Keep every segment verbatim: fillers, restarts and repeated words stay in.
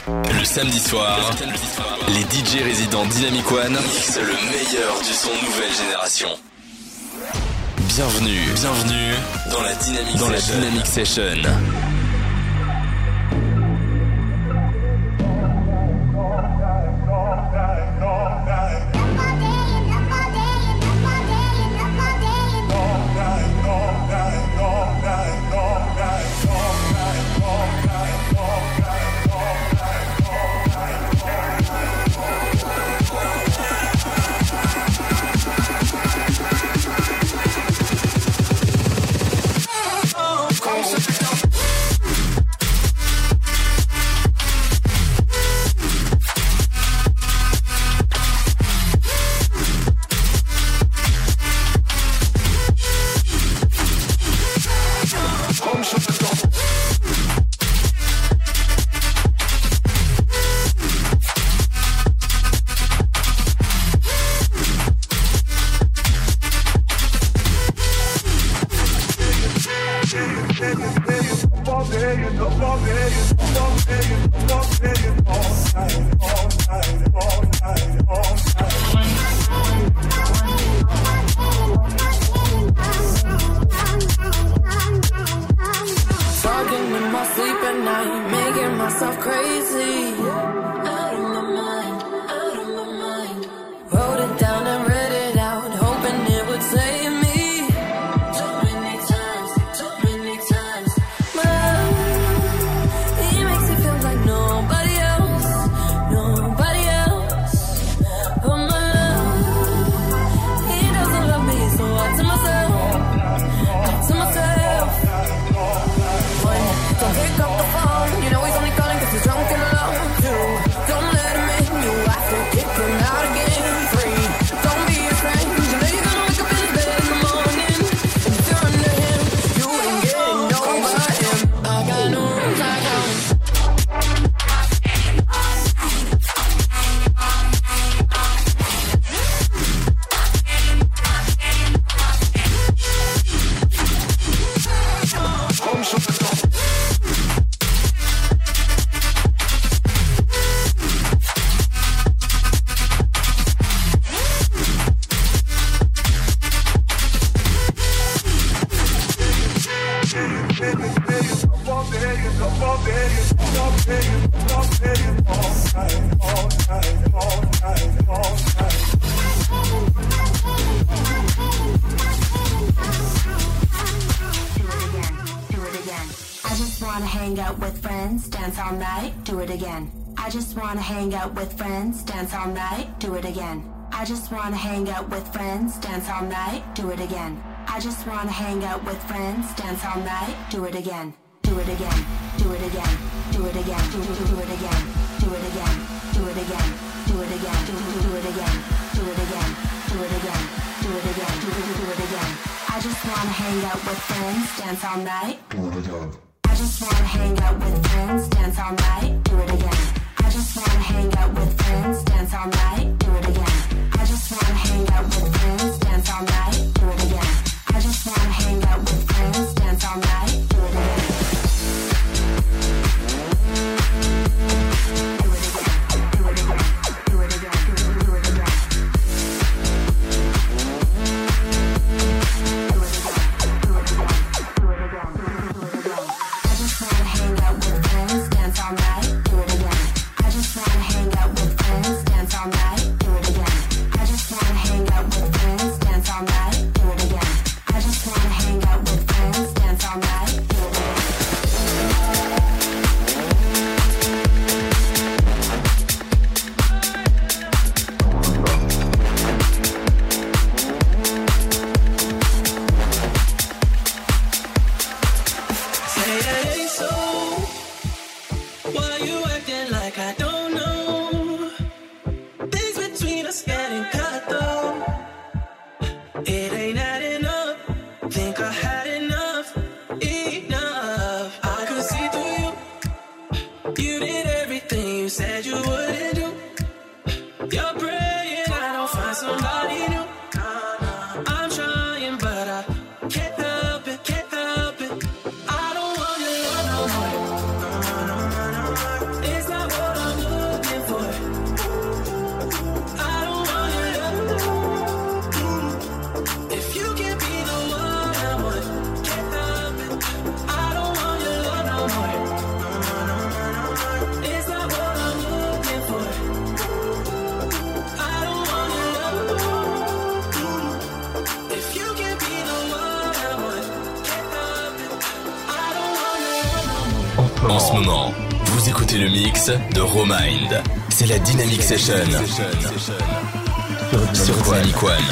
Le samedi soir, les D J résidents Dynamic One mixent le meilleur du son nouvelle génération. Bienvenue, bienvenue dans la Dynamic dans Session. La Dynamic Session. Do it again, do it again, do it again, do it again, do it do it again, do it again, do it again, do it again, do do it again, do it again, do it again, do it again, do do it again. I just wanna hang out with friends, dance all night. Do it again. I just wanna hang out with friends, dance all night. Do it again. I just wanna hang out with friends, dance all night. Do it again. I just wanna hang out with friends, dance all night. Do it again. I just wanna hang out with friends, dance all night. Do it again. Do it again. Do it again. Do it again. Do it, do it again. Do it again. Do it again. Do it again. Do it again. I just wanna hang out with friends, dance all night. Do it again. I just wanna hang out with friends, dance all night. Do it again. I just wanna hang out with friends, dance all night. Do it again. I just wanna hang out with friends, dance all night. Do it again. Say it ain't so. Why you acting like I don't know? Things between us getting cut though. It ain't adding up. Think I had enough, enough. I could see through you. You did everything you said you wouldn't do. You're praying I don't find somebody new. I'm trying, but I can't help it, can't help it. I don't want your love no more. It's not what I En ce moment, vous écoutez le mix de Romind. C'est la Dynamic Session sur Dynamic One.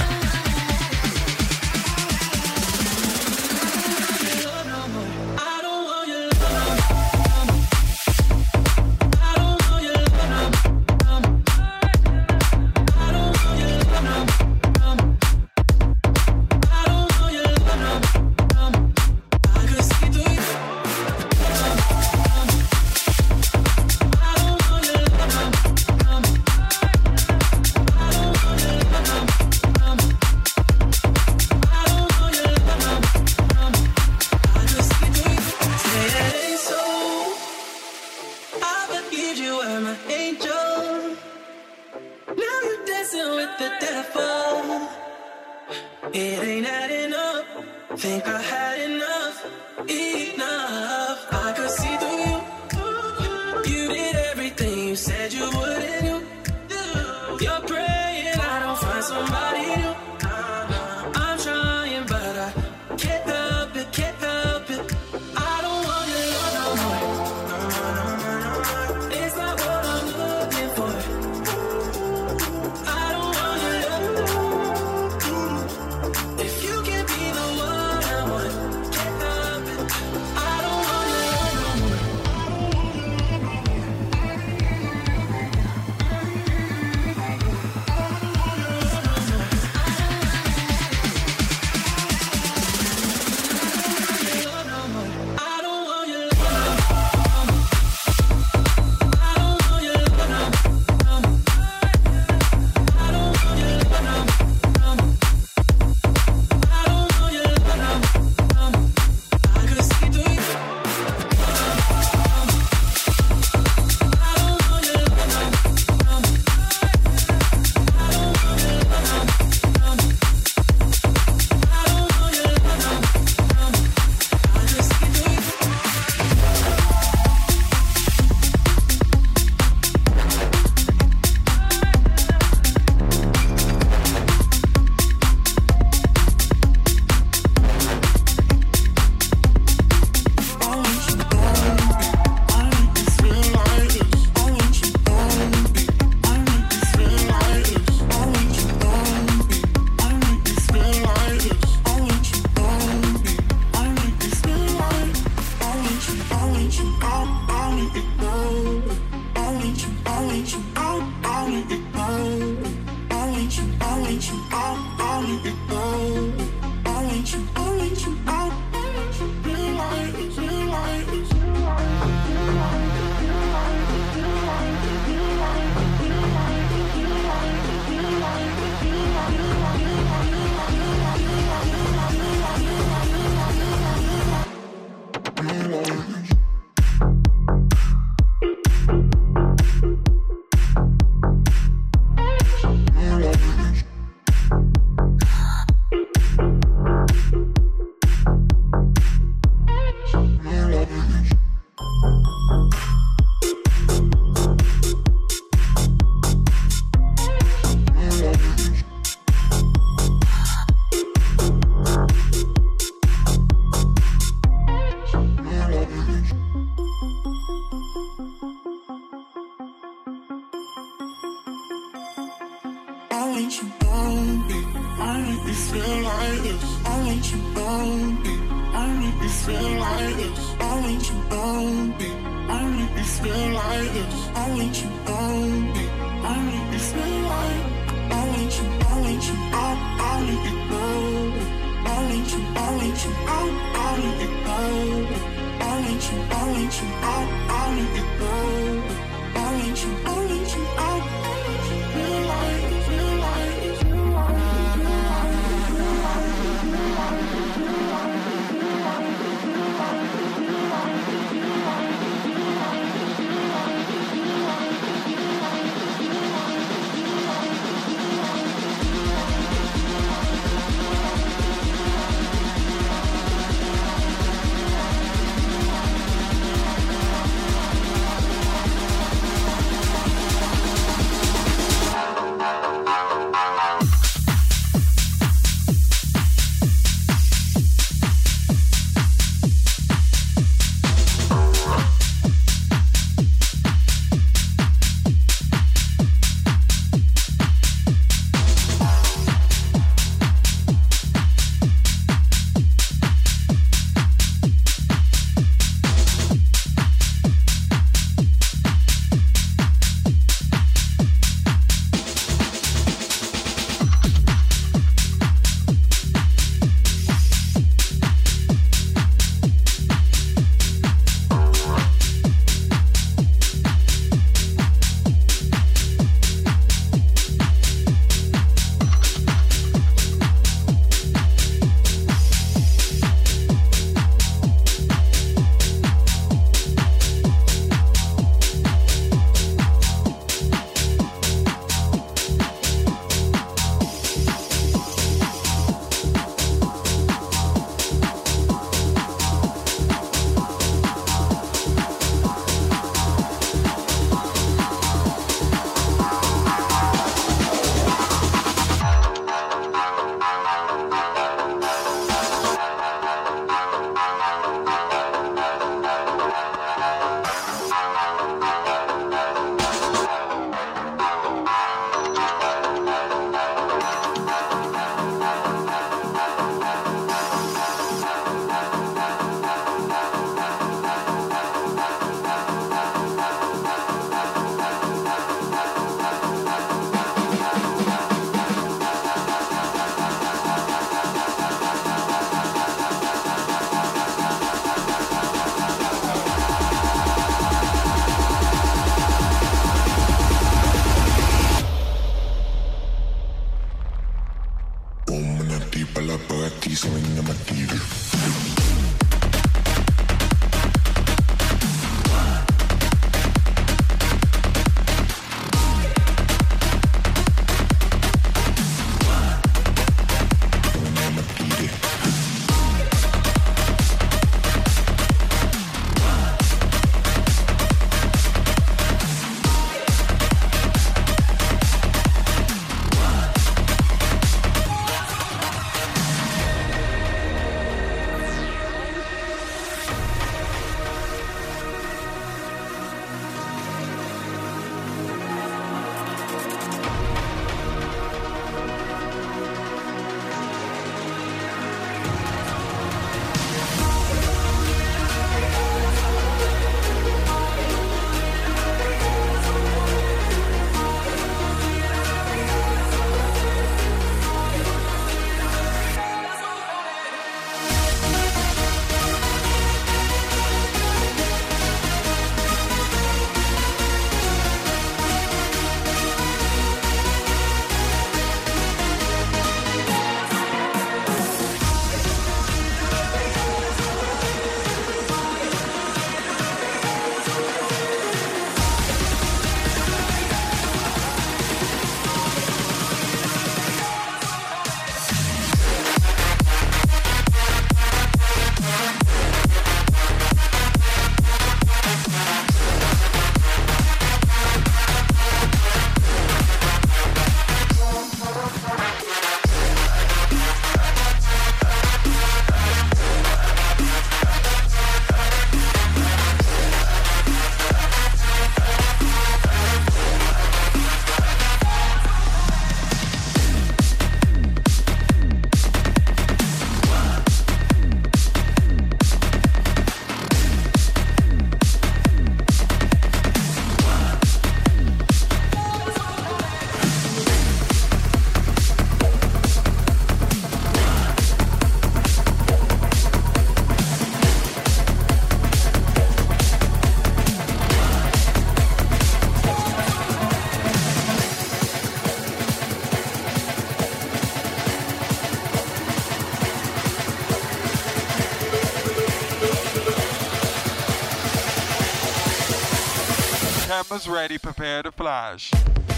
Cameras ready, prepare to flash.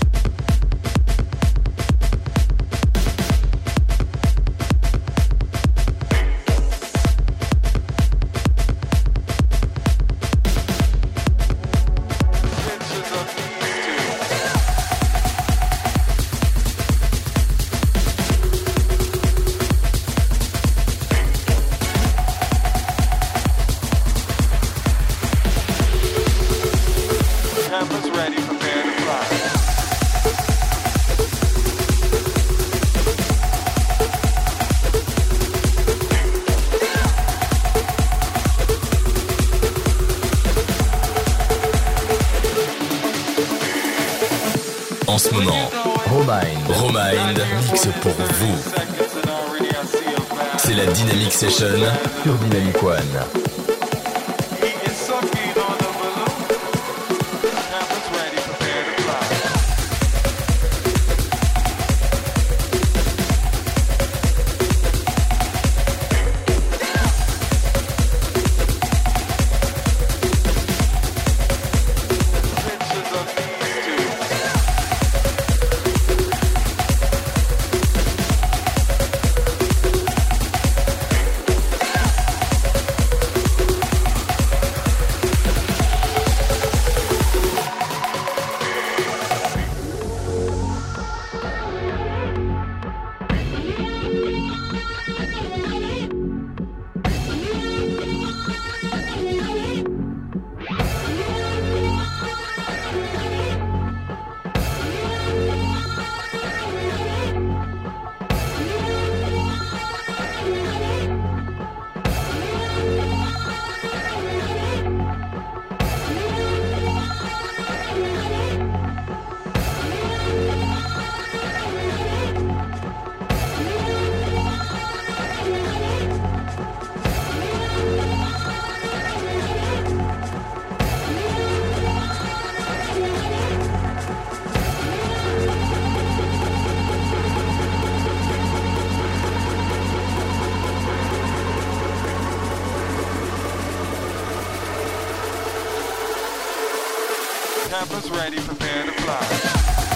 En ce moment, Romind, Romind mixe pour vous. C'est la Dynamic Session sur Dynamic One. Cameras ready, prepare to fly.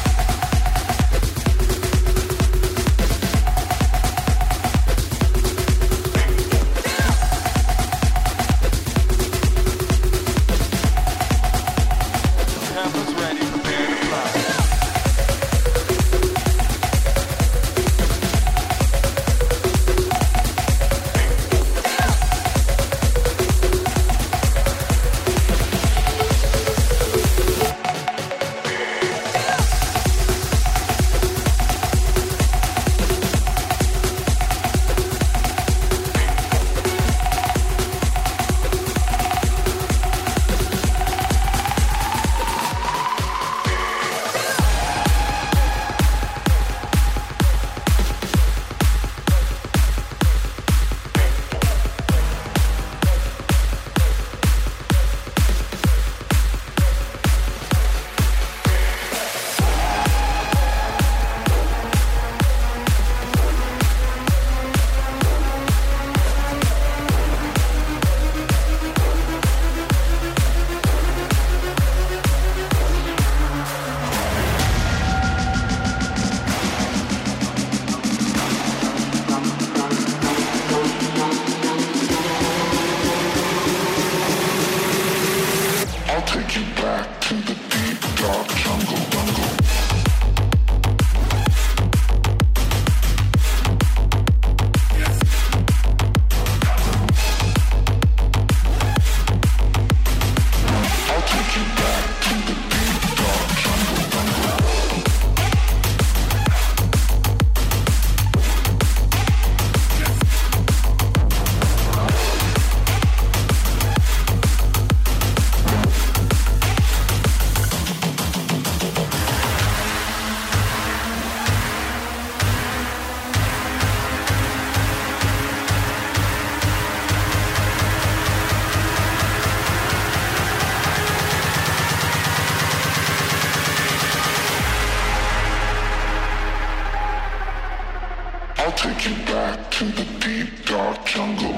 take you back to the deep dark jungle.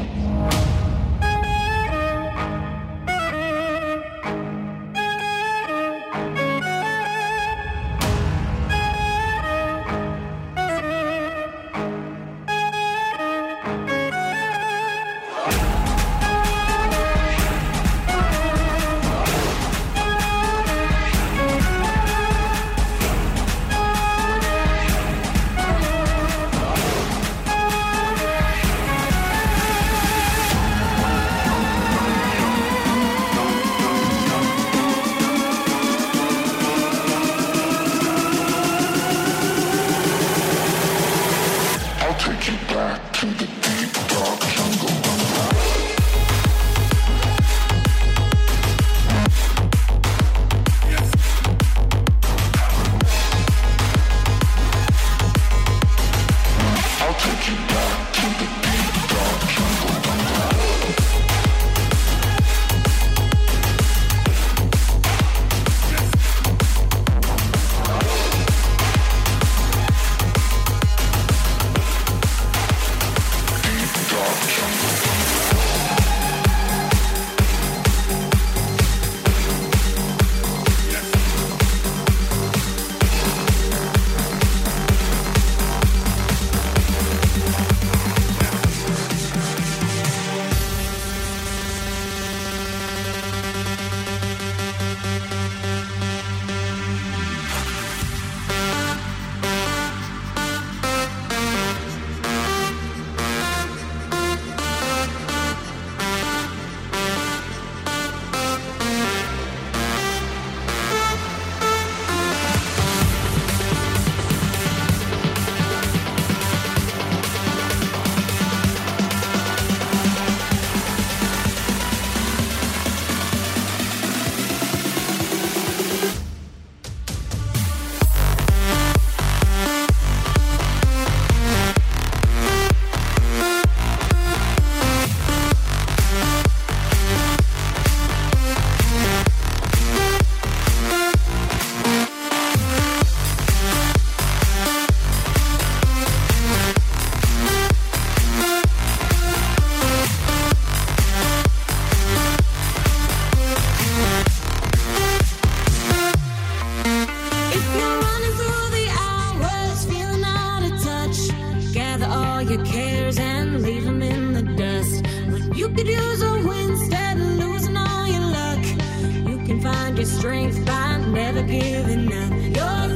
your cares and leave them in the dust. But you could use a win instead of losing all your luck. You can find your strength by never giving up. Your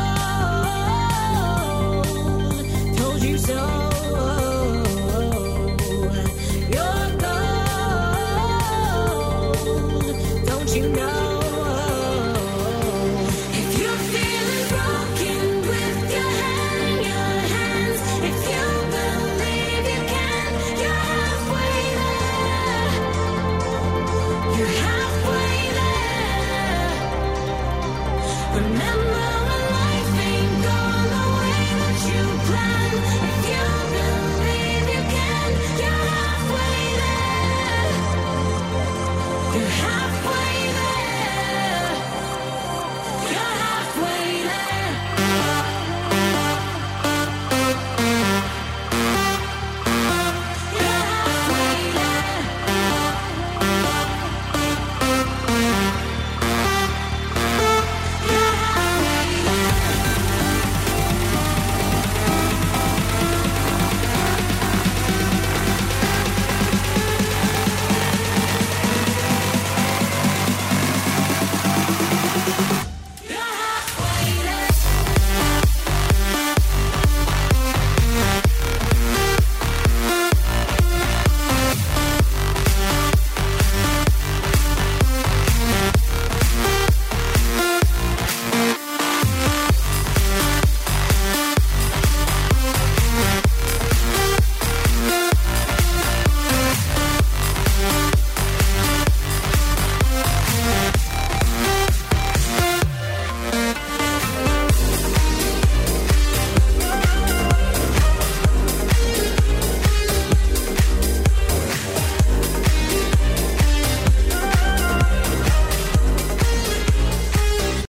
gold, told you so. Your gold, don't you know? Remember